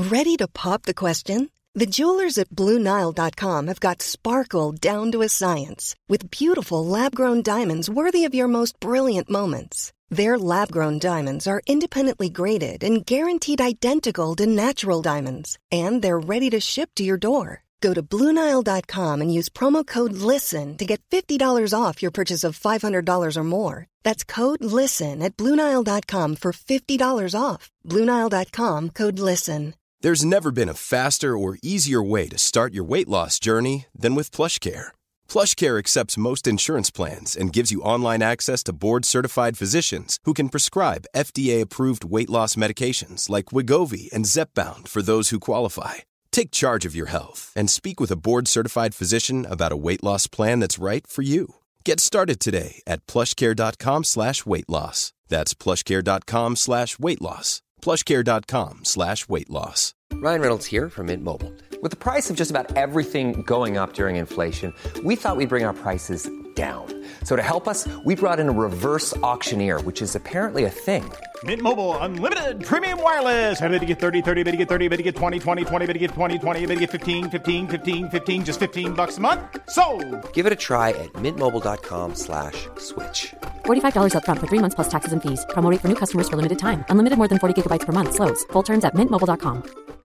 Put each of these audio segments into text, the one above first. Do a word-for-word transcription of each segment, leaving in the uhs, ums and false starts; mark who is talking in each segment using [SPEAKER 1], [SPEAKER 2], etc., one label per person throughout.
[SPEAKER 1] Ready to pop the question? The jewelers at Blue Nile dot com have got sparkle down to a science with beautiful lab-grown diamonds worthy of your most brilliant moments. Their lab-grown diamonds are independently graded and guaranteed identical to natural diamonds, and they're ready to ship to your door. Go to Blue Nile dot com and use promo code LISTEN to get fifty dollars off your purchase of five hundred dollars or more. That's code LISTEN at Blue Nile dot com for fifty dollars off. Blue Nile dot com, code LISTEN.
[SPEAKER 2] There's never been a faster or easier way to start your weight loss journey than with PlushCare. PlushCare accepts most insurance plans and gives you online access to board-certified physicians who can prescribe F D A-approved weight loss medications like Wegovy and Zepbound for those who qualify. Take charge of your health and speak with a board-certified physician about a weight loss plan that's right for you. Get started today at plushcare.com slash weight loss. That's plushcare.com slash weight loss. plushcare.com slash weight loss.
[SPEAKER 3] Ryan Reynolds here from Mint Mobile. With the price of just about everything going up during inflation, we thought we'd bring our prices down. So to help us, we brought in a reverse auctioneer, which is apparently a thing.
[SPEAKER 4] Mint Mobile Unlimited Premium Wireless. How to get thirty, thirty, bit to get thirty, bit to get twenty, twenty, twenty, bit to get twenty, twenty, bit to get fifteen, fifteen, fifteen, fifteen, just fifteen bucks a month? Sold!
[SPEAKER 3] Give it a try at mintmobile.com slash switch.
[SPEAKER 5] forty-five dollars up front for three months plus taxes and fees. Promo rate for new customers for limited time. Unlimited more than forty gigabytes per month. Slows full terms at mint mobile dot com.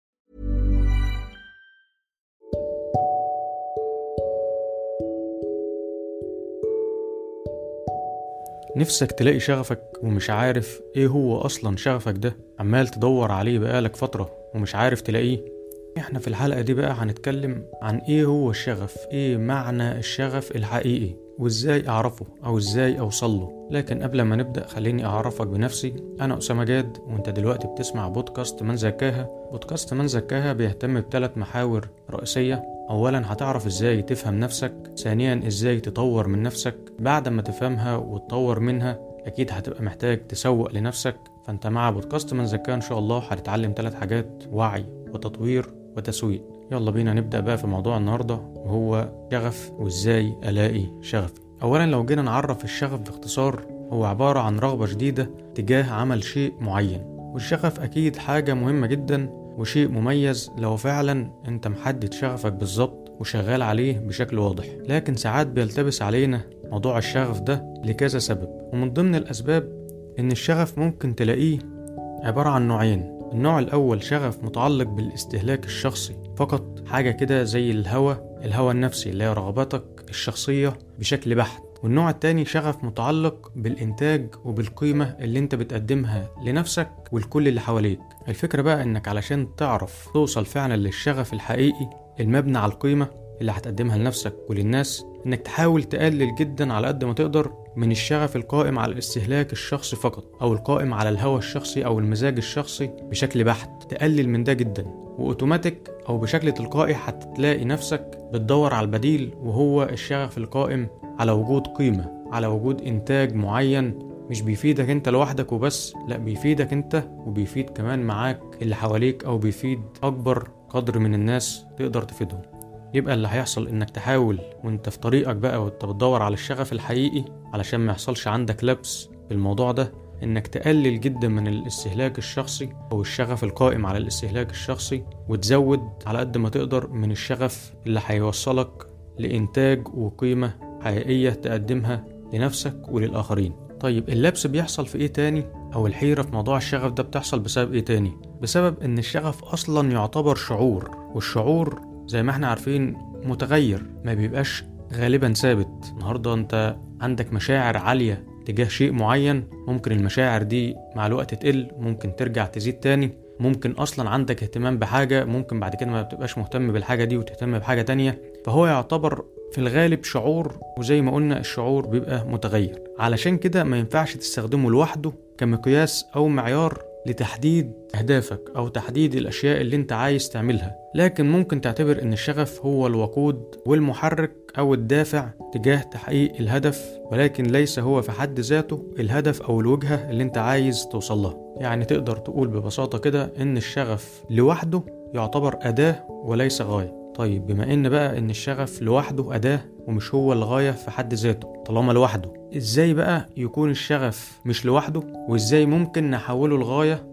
[SPEAKER 6] نفسك تلاقي شغفك ومش عارف ايه هو اصلا شغفك ده، عمال تدور عليه بقالك فترة ومش عارف تلاقيه. احنا في الحلقة دي بقى هنتكلم عن ايه هو الشغف، ايه معنى الشغف الحقيقي، وازاي اعرفه او ازاي اوصله. لكن قبل ما نبدأ خليني اعرفك بنفسي. انا اسامة جاد، وانت دلوقتي بتسمع بودكاست من زكاها. بودكاست من زكاها بيهتم بثلاث محاور رئيسية. اولا هتعرف ازاي تفهم نفسك، ثانيا ازاي تطور من نفسك. بعد ما تفهمها وتطور منها اكيد هتبقى محتاج تسوق لنفسك. فانت مع بودكاست من زكاها ان شاء الله هتتعلم ثلاث حاجات: وعي وتطوير وتسويق. يلا بينا نبدأ بقى في موضوع النهاردة، وهو شغف وازاي الاقي شغفي. اولا لو جينا نعرف الشغف باختصار، هو عبارة عن رغبة شديدة تجاه عمل شيء معين. والشغف اكيد حاجة مهمة جدا وشيء مميز لو فعلا انت محدد شغفك بالظبط وشغال عليه بشكل واضح. لكن ساعات بيلتبس علينا موضوع الشغف ده لكذا سبب، ومن ضمن الاسباب ان الشغف ممكن تلاقيه عبارة عن نوعين. النوع الاول شغف متعلق بالاستهلاك الشخصي فقط، حاجة كده زي الهوى الهوى النفسي اللي هي رغباتك الشخصية بشكل بحت. والنوع التاني شغف متعلق بالإنتاج وبالقيمة اللي انت بتقدمها لنفسك والكل اللي حواليك. الفكرة بقى انك علشان تعرف توصل فعلا للشغف الحقيقي المبني على القيمة اللي هتقدمها لنفسك وللناس، انك تحاول تقلل جدا على قد ما تقدر من الشغف القائم على الاستهلاك الشخصي فقط، او القائم على الهوى الشخصي او المزاج الشخصي بشكل بحت. تقلل من ده جدا، واوتوماتيك او بشكل تلقائي هتلاقي نفسك بتدور على البديل، وهو الشغف القائم على وجود قيمة، على وجود إنتاج معين مش بيفيدك أنت لوحدك وبس، لا بيفيدك أنت وبيفيد كمان معاك اللي حواليك، أو بيفيد أكبر قدر من الناس تقدر تفيدهم. يبقى اللي هيحصل إنك تحاول وإنت في طريقك بقى وإنت بتدور على الشغف الحقيقي، علشان ما يحصلش عندك لبس بالموضوع ده، إنك تقلل جدا من الاستهلاك الشخصي أو الشغف القائم على الاستهلاك الشخصي، وتزود على قد ما تقدر من الشغف اللي هيوصلك لإنتاج وقيمة حقيقية تقدمها لنفسك وللآخرين. طيب اللبس بيحصل في ايه تاني، او الحيرة في موضوع الشغف ده بتحصل بسبب ايه تاني؟ بسبب ان الشغف اصلا يعتبر شعور، والشعور زي ما احنا عارفين متغير، ما بيبقاش غالبا ثابت. النهاردة انت عندك مشاعر عالية تجاه شيء معين، ممكن المشاعر دي مع الوقت تقل، ممكن ترجع تزيد تاني. ممكن اصلا عندك اهتمام بحاجة، ممكن بعد كده ما بتبقاش مهتم بالحاجة دي وتهتم بحاجة تانية. فهو يعتبر في الغالب شعور، وزي ما قلنا الشعور بيبقى متغير. علشان كده ما ينفعش تستخدمه لوحده كمقياس او معيار لتحديد اهدافك او تحديد الاشياء اللي انت عايز تعملها. لكن ممكن تعتبر ان الشغف هو الوقود والمحرك او الدافع تجاه تحقيق الهدف، ولكن ليس هو في حد ذاته الهدف او الوجهة اللي انت عايز توصلها. يعني تقدر تقول ببساطة كده ان الشغف لوحده يعتبر اداة وليس غاية. طيب بما ان بقى ان الشغف لوحده أداة ومش هو الغاية في حد ذاته، طالما لوحده، ازاي بقى يكون الشغف مش لوحده، وازاي ممكن نحوله لغاية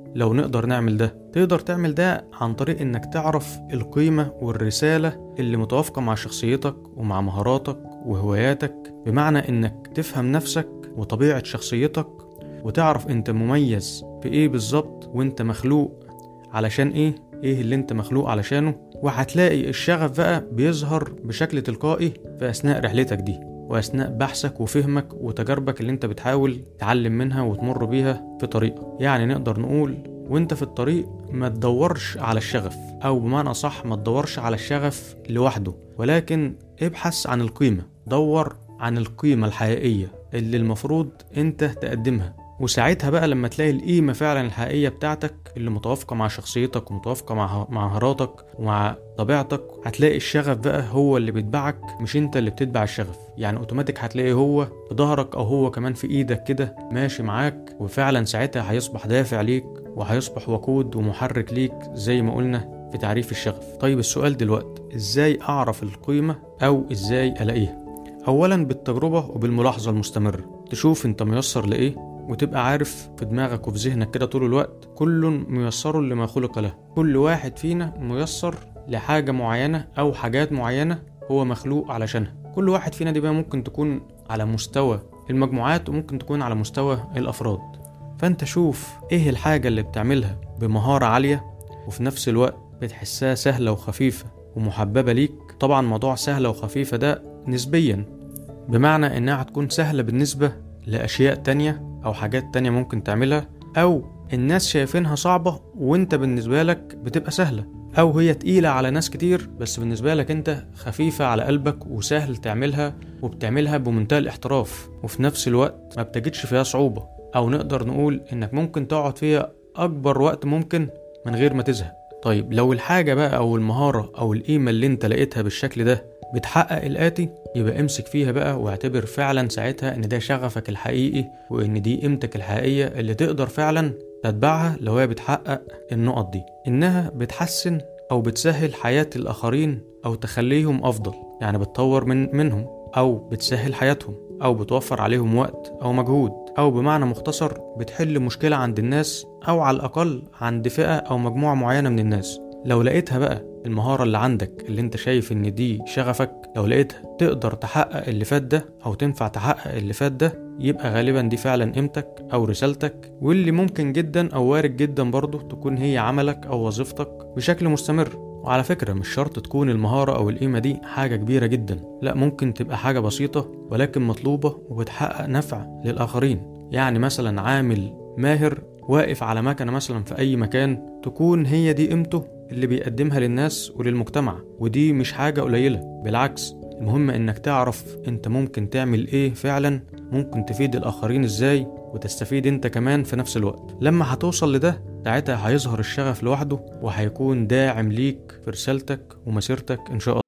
[SPEAKER 6] لو نقدر نعمل ده؟ تقدر تعمل ده عن طريق انك تعرف القيمة والرسالة اللي متوافقة مع شخصيتك ومع مهاراتك وهواياتك، بمعنى انك تفهم نفسك وطبيعة شخصيتك وتعرف انت مميز في ايه بالظبط، وانت مخلوق علشان ايه، ايه اللي انت مخلوق علشانه. وهتلاقي الشغف بقى بيظهر بشكل تلقائي في اثناء رحلتك دي، واثناء بحثك وفهمك وتجاربك اللي انت بتحاول تعلم منها وتمر بيها في طريقك. يعني نقدر نقول وانت في الطريق ما تدورش على الشغف، او بمعنى صح ما تدورش على الشغف لوحده، ولكن ابحث عن القيمة. دور عن القيمة الحقيقية اللي المفروض انت تقدمها، وساعتها بقى لما تلاقي القيمة فعلا الحقيقية بتاعتك اللي متوافقة مع شخصيتك ومتوافقة مع مهاراتك ومع طبيعتك، هتلاقي الشغف بقى هو اللي بيتبعك، مش انت اللي بتتبع الشغف. يعني اوتوماتيك هتلاقي هو في ظهرك او هو كمان في ايدك كده ماشي معاك، وفعلا ساعتها هيصبح دافع ليك وهيصبح وقود ومحرك ليك زي ما قلنا في تعريف الشغف. طيب السؤال دلوقتي، ازاي اعرف القيمة او ازاي الاقيها؟ اولا بالتجربة وبالملاحظة المستمرة. تشوف انت ميسر لايه، وتبقى عارف في دماغك وفي ذهنك كده طول الوقت كل ميسر لما خلق له. كل واحد فينا ميسر لحاجة معينة او حاجات معينة هو مخلوق علشانها. كل واحد فينا دي بقى ممكن تكون على مستوى المجموعات وممكن تكون على مستوى الافراد. فانت شوف ايه الحاجة اللي بتعملها بمهارة عالية وفي نفس الوقت بتحسها سهلة وخفيفة ومحببة ليك. طبعا موضوع سهلة وخفيفة ده نسبيا، بمعنى انها هتكون سهلة بالنسبة لأشياء تانية أو حاجات تانية ممكن تعملها، أو الناس شايفينها صعبة وانت بالنسبة لك بتبقى سهلة، أو هي تقيلة على ناس كتير بس بالنسبة لك انت خفيفة على قلبك وسهل تعملها وبتعملها بمنتهى الاحتراف، وفي نفس الوقت ما بتجدش فيها صعوبة، أو نقدر نقول انك ممكن تقعد فيها أكبر وقت ممكن من غير ما تزهق. طيب لو الحاجة بقى أو المهارة أو القيمة اللي انت لقيتها بالشكل ده بتحقق الآتي، يبقى امسك فيها بقى واعتبر فعلا ساعتها ان ده شغفك الحقيقي، وان دي قيمتك الحقيقية اللي تقدر فعلا تتبعها لو هي بتحقق النقط دي. انها بتحسن او بتسهل حياة الاخرين او تخليهم افضل، يعني بتطور من منهم او بتسهل حياتهم او بتوفر عليهم وقت او مجهود، او بمعنى مختصر بتحل مشكلة عند الناس او على الاقل عند فئة او مجموعة معينة من الناس. لو لقيتها بقى المهارة اللي عندك اللي انت شايف ان دي شغفك، لو لقيتها تقدر تحقق اللي فات ده او تنفع تحقق اللي فات ده، يبقى غالبا دي فعلا قيمتك او رسالتك، واللي ممكن جدا او وارد جدا برضو تكون هي عملك او وظيفتك بشكل مستمر. وعلى فكرة مش شرط تكون المهارة او القيمة دي حاجة كبيرة جدا، لا ممكن تبقى حاجة بسيطة ولكن مطلوبة وبتحقق نفع للآخرين. يعني مثلا عامل ماهر واقف على مكنة مثلا في اي مكان، تكون هي دي قيمته اللي بيقدمها للناس وللمجتمع، ودي مش حاجة قليلة، بالعكس المهم انك تعرف انت ممكن تعمل ايه فعلا، ممكن تفيد الاخرين ازاي وتستفيد انت كمان في نفس الوقت. لما هتوصل لده ساعتها هيظهر الشغف لوحده وهيكون داعم ليك في رسالتك ومسيرتك ان شاء الله.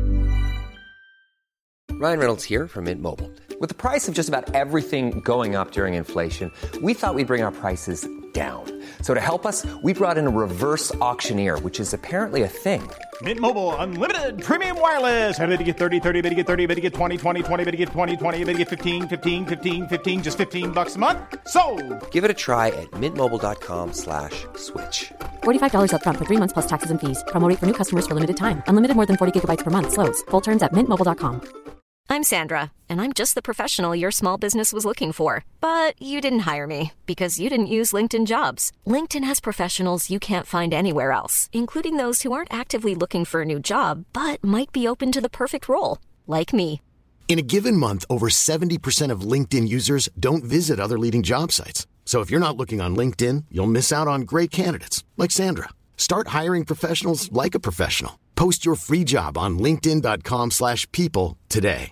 [SPEAKER 3] Ryan Reynolds here from Mint Mobile. With the price of just about everything going up during inflation, we thought we'd bring our prices down. So to help us, we brought in a reverse auctioneer, which is apparently a thing.
[SPEAKER 4] Mint Mobile Unlimited Premium Wireless. How to get thirty, thirty, how to get thirty, how to get twenty, twenty, twenty, how to get twenty, twenty, how to get fifteen, fifteen, fifteen, fifteen, just fifteen bucks a month? Sold!
[SPEAKER 3] Give it a try at mintmobile.com slash switch.
[SPEAKER 5] forty-five dollars up front for three months plus taxes and fees. Promo rate for new customers for limited time. Unlimited more than forty gigabytes per month. Slows full terms at mint mobile dot com.
[SPEAKER 7] I'm Sandra, and I'm just the professional your small business was looking for. But you didn't hire me because you didn't use LinkedIn Jobs. LinkedIn has professionals you can't find anywhere else, including those who aren't actively looking for a new job, but might be open to the perfect role, like me.
[SPEAKER 8] In a given month, over seventy percent of LinkedIn users don't visit other leading job sites. So if you're not looking on LinkedIn, you'll miss out on great candidates like Sandra. Start hiring professionals like a professional. Post your free job on linkedin dot com slash people today.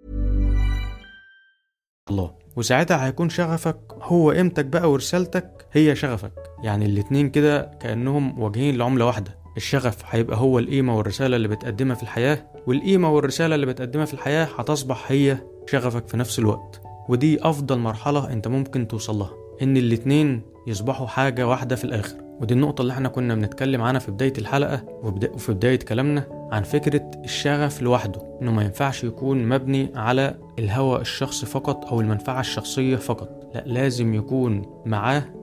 [SPEAKER 6] الله. وساعتها هيكون شغفك هو قيمتك بقى ورسالتك هي شغفك. يعني الاتنين كده كأنهم وجهين لعملة واحدة. الشغف هيبقى هو القيمة والرسالة اللي بتقدمها في الحياة، والقيمة والرسالة اللي بتقدمها في الحياة هتصبح هي شغفك في نفس الوقت. ودي أفضل مرحلة انت ممكن توصلها، ان الاتنين يصبحوا حاجة واحدة في الآخر. ودي النقطة اللي احنا كنا بنتكلم عنها في بداية الحلقة وفي بداية كلامنا عن فكرة الشغف لوحده، انه ما ينفعش يكون مبني على الهوى الشخصي فقط او المنفعة الشخصية فقط، لا لازم يكون معاه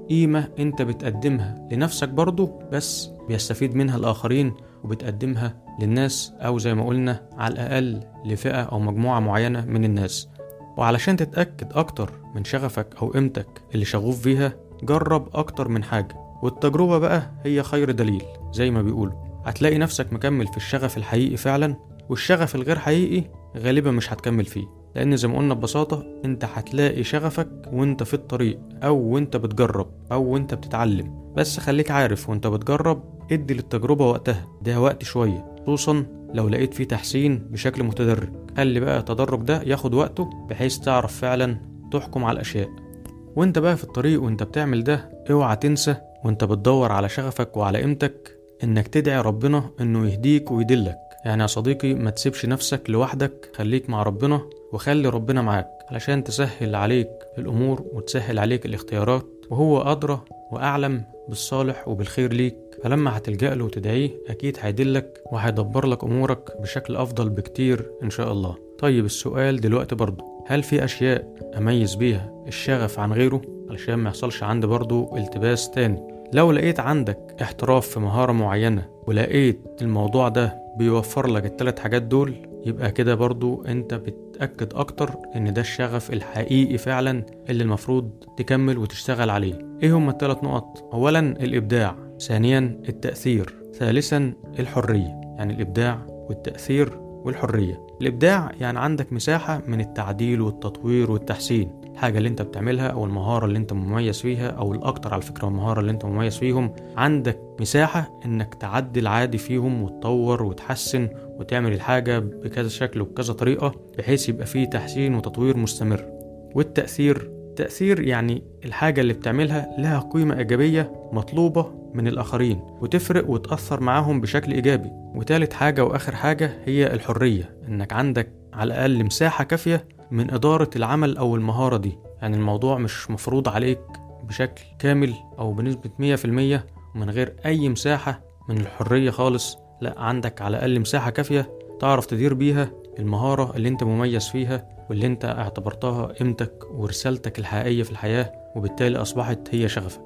[SPEAKER 6] قيمة انت بتقدمها لنفسك برضو، بس بيستفيد منها الآخرين وبتقدمها للناس، أو زي ما قلنا على الأقل لفئة أو مجموعة معينة من الناس. وعلشان تتأكد أكتر من شغفك أو قيمتك اللي شغوف فيها، جرب أكتر من حاجة، والتجربة بقى هي خير دليل زي ما بيقولوا. هتلاقي نفسك مكمل في الشغف الحقيقي فعلا، والشغف الغير حقيقي غالبا مش هتكمل فيه، لأن زي ما قلنا ببساطة انت هتلاقي شغفك وانت في الطريق، أو وانت بتجرب، أو وانت بتتعلم. بس خليك عارف وانت بتجرب ادي للتجربة وقتها، ده وقت شوية، خصوصا لو لقيت فيه تحسين بشكل متدرج. خلي بقى التدرج ده ياخد وقته بحيث تعرف فعلا تحكم على الأشياء. وانت بقى في الطريق وانت بتعمل ده، اوعى تنسى وانت بتدور على شغفك وعلى قيمتك انك تدعي ربنا انه يهديك ويدلك. يعني يا صديقي ما تسيبش نفسك لوحدك، خليك مع ربنا وخلي ربنا معاك علشان تسهل عليك الأمور وتسهل عليك الاختيارات، وهو أدرى وأعلم بالصالح وبالخير ليك. فلما هتلجأ له وتدعيه أكيد هيدلك وهيدبر لك أمورك بشكل أفضل بكتير إن شاء الله. طيب السؤال دلوقتي برضو، هل في أشياء أميز بيها الشغف عن غيره علشان ما يحصلش عندي برضو التباس تاني؟ لو لقيت عندك احتراف في مهارة معينة ولقيت الموضوع ده بيوفر لك الثلاث حاجات دول، يبقى كده برضو انت بتأكد اكتر ان ده الشغف الحقيقي فعلا اللي المفروض تكمل وتشتغل عليه. ايه هم الثلاث نقط؟ اولا الابداع، ثانيا التأثير، ثالثا الحرية. يعني الابداع والتأثير والحرية. الابداع يعني عندك مساحة من التعديل والتطوير والتحسين، الحاجة اللي انت بتعملها او المهارة اللي انت مميز فيها، او الاكتر على فكرة المهارة اللي انت مميز فيهم، عندك مساحة انك تعدل عادي فيهم وتطور وتحسن وتعمل الحاجة بكذا شكل وبكذا طريقة بحيث يبقى فيه تحسين وتطوير مستمر. والتأثير، تأثير يعني الحاجة اللي بتعملها لها قيمة إيجابية مطلوبة من الآخرين وتفرق وتأثر معاهم بشكل إيجابي. وثالث حاجة وآخر حاجة هي الحرية، إنك عندك على الأقل مساحة كافية من إدارة العمل أو المهارة دي. يعني الموضوع مش مفروض عليك بشكل كامل أو بنسبة مية في المية ومن غير أي مساحة من الحرية خالص، لا، عندك على الأقل مساحة كافية تعرف تدير بيها المهارة اللي انت مميز فيها واللي انت اعتبرتها قيمتك ورسالتك الحقيقية في الحياة، وبالتالي أصبحت هي شغفك.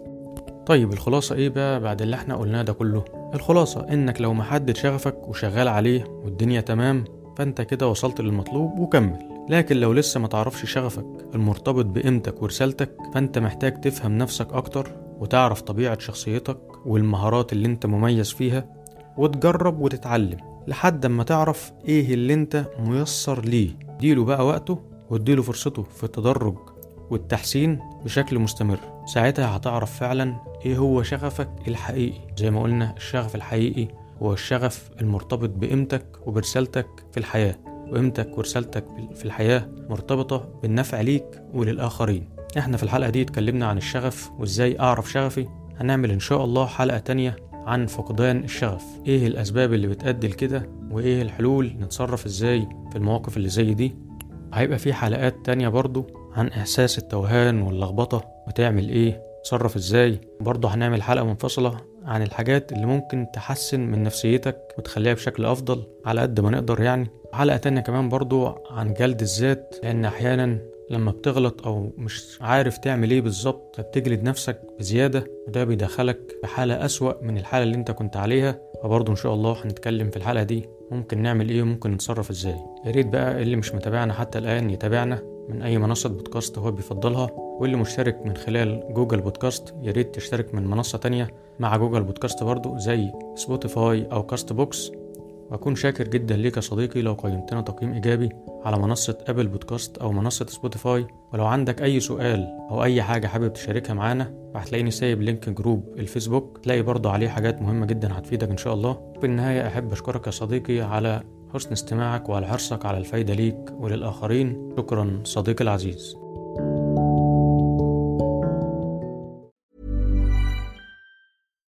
[SPEAKER 6] طيب الخلاصة ايه بقى بعد اللي احنا قلناه ده كله؟ الخلاصة انك لو محدد شغفك وشغال عليه والدنيا تمام، فانت كده وصلت للمطلوب وكمل. لكن لو لسه ما تعرفش شغفك المرتبط بقيمتك ورسالتك، فانت محتاج تفهم نفسك اكتر وتعرف طبيعة شخصيتك والمهارات اللي انت مميز فيها، وتجرب وتتعلم لحد ما تعرف ايه اللي انت ميسر ليه. ديله بقى وقته واديله فرصته في التدرج والتحسين بشكل مستمر. ساعتها هتعرف فعلا ايه هو شغفك الحقيقي. زي ما قلنا الشغف الحقيقي هو الشغف المرتبط بقيمتك وبرسالتك في الحياة، وقيمتك ورسالتك في الحياة مرتبطة بالنفع ليك وللآخرين. احنا في الحلقة دي اتكلمنا عن الشغف وازاي اعرف شغفي. هنعمل ان شاء الله حلقة تانية عن فقدان الشغف، ايه الاسباب اللي بتؤدي لكده وايه الحلول، نتصرف ازاي في المواقف اللي زي دي. هيبقى في حلقات تانية برضو عن احساس التوهان واللخبطة وتعمل ايه، تصرف ازاي. برضو هنعمل حلقة منفصلة عن الحاجات اللي ممكن تحسن من نفسيتك وتخليها بشكل افضل على قد ما نقدر يعني. حلقة تانية كمان برضو عن جلد الذات، لان احيانا لما بتغلط او مش عارف تعمل ايه بالظبط فبتجلد نفسك بزيادة، وده بيدخلك في حالة اسوأ من الحالة اللي انت كنت عليها. فبرضو ان شاء الله هنتكلم في الحلقة دي ممكن نعمل ايه وممكن نتصرف ازاي. يا ريت بقى اللي مش متابعنا حتى الان يتابعنا من اي منصة بودكاست هو بيفضلها، واللي مشترك من خلال جوجل بودكاست يا ريت تشترك من منصة تانية مع جوجل بودكاست برضو زي سبوتيفاي او كاست بوكس. وأكون شاكر جدا ليك يا صديقي لو قيمتنا تقييم إيجابي على منصة أبل بودكاست أو منصة سبوتيفاي. ولو عندك أي سؤال أو أي حاجة حابب تشاركها معانا، هتلاقيني سايب لينك جروب الفيسبوك، تلاقي برضو عليه حاجات مهمة جدا هتفيدك إن شاء الله. بالنهاية أحب أشكرك يا صديقي على حسن استماعك وعلى حرصك على الفايدة ليك وللآخرين. شكرا صديقي العزيز.
[SPEAKER 9] Mom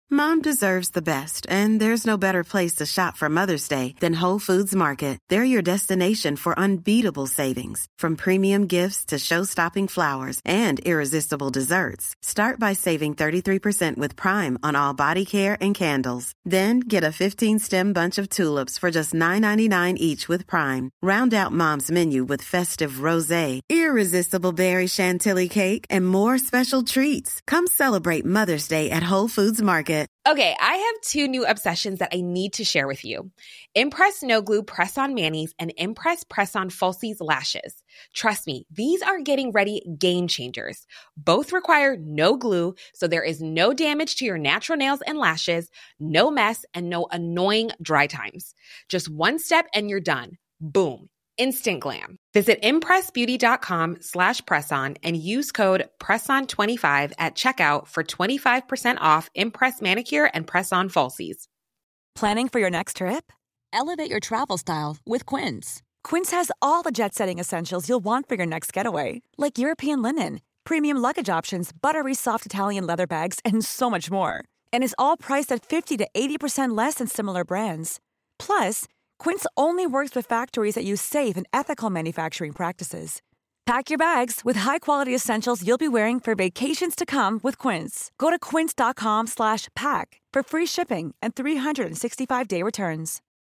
[SPEAKER 9] deserves the best, and there's no better place to shop for Mother's Day than Whole Foods Market. They're your destination for unbeatable savings, from premium gifts to show-stopping flowers and irresistible desserts. Start by saving thirty-three percent with Prime on all body care and candles. Then get a fifteen-stem bunch of tulips for just nine ninety-nine each with Prime. Round out Mom's menu with festive rosé, irresistible berry chantilly cake, and more special treats. Come celebrate Mother's Day at Whole Foods Market.
[SPEAKER 10] Okay, I have two new obsessions that I need to share with you. Impress No Glue Press-On Manis and Impress Press-On Falsies Lashes. Trust me, these are getting ready game changers. Both require no glue, so there is no damage to your natural nails and lashes, no mess, and no annoying dry times. Just one step and you're done. Boom. Instant glam. Visit impressbeauty.com slash presson and use code presson twenty-five at checkout for twenty-five percent off Impress Manicure and Press-On Falsies.
[SPEAKER 11] Planning for your next trip? Elevate your travel style with Quince. Quince has all the jet-setting essentials you'll want for your next getaway, like European linen, premium luggage options, buttery soft Italian leather bags, and so much more. And is all priced at fifty to eighty percent less than similar brands. Plus, Quince only works with factories that use safe and ethical manufacturing practices. Pack your bags with high-quality essentials you'll be wearing for vacations to come with Quince. Go to quince.com slash pack for free shipping and three sixty-five day returns.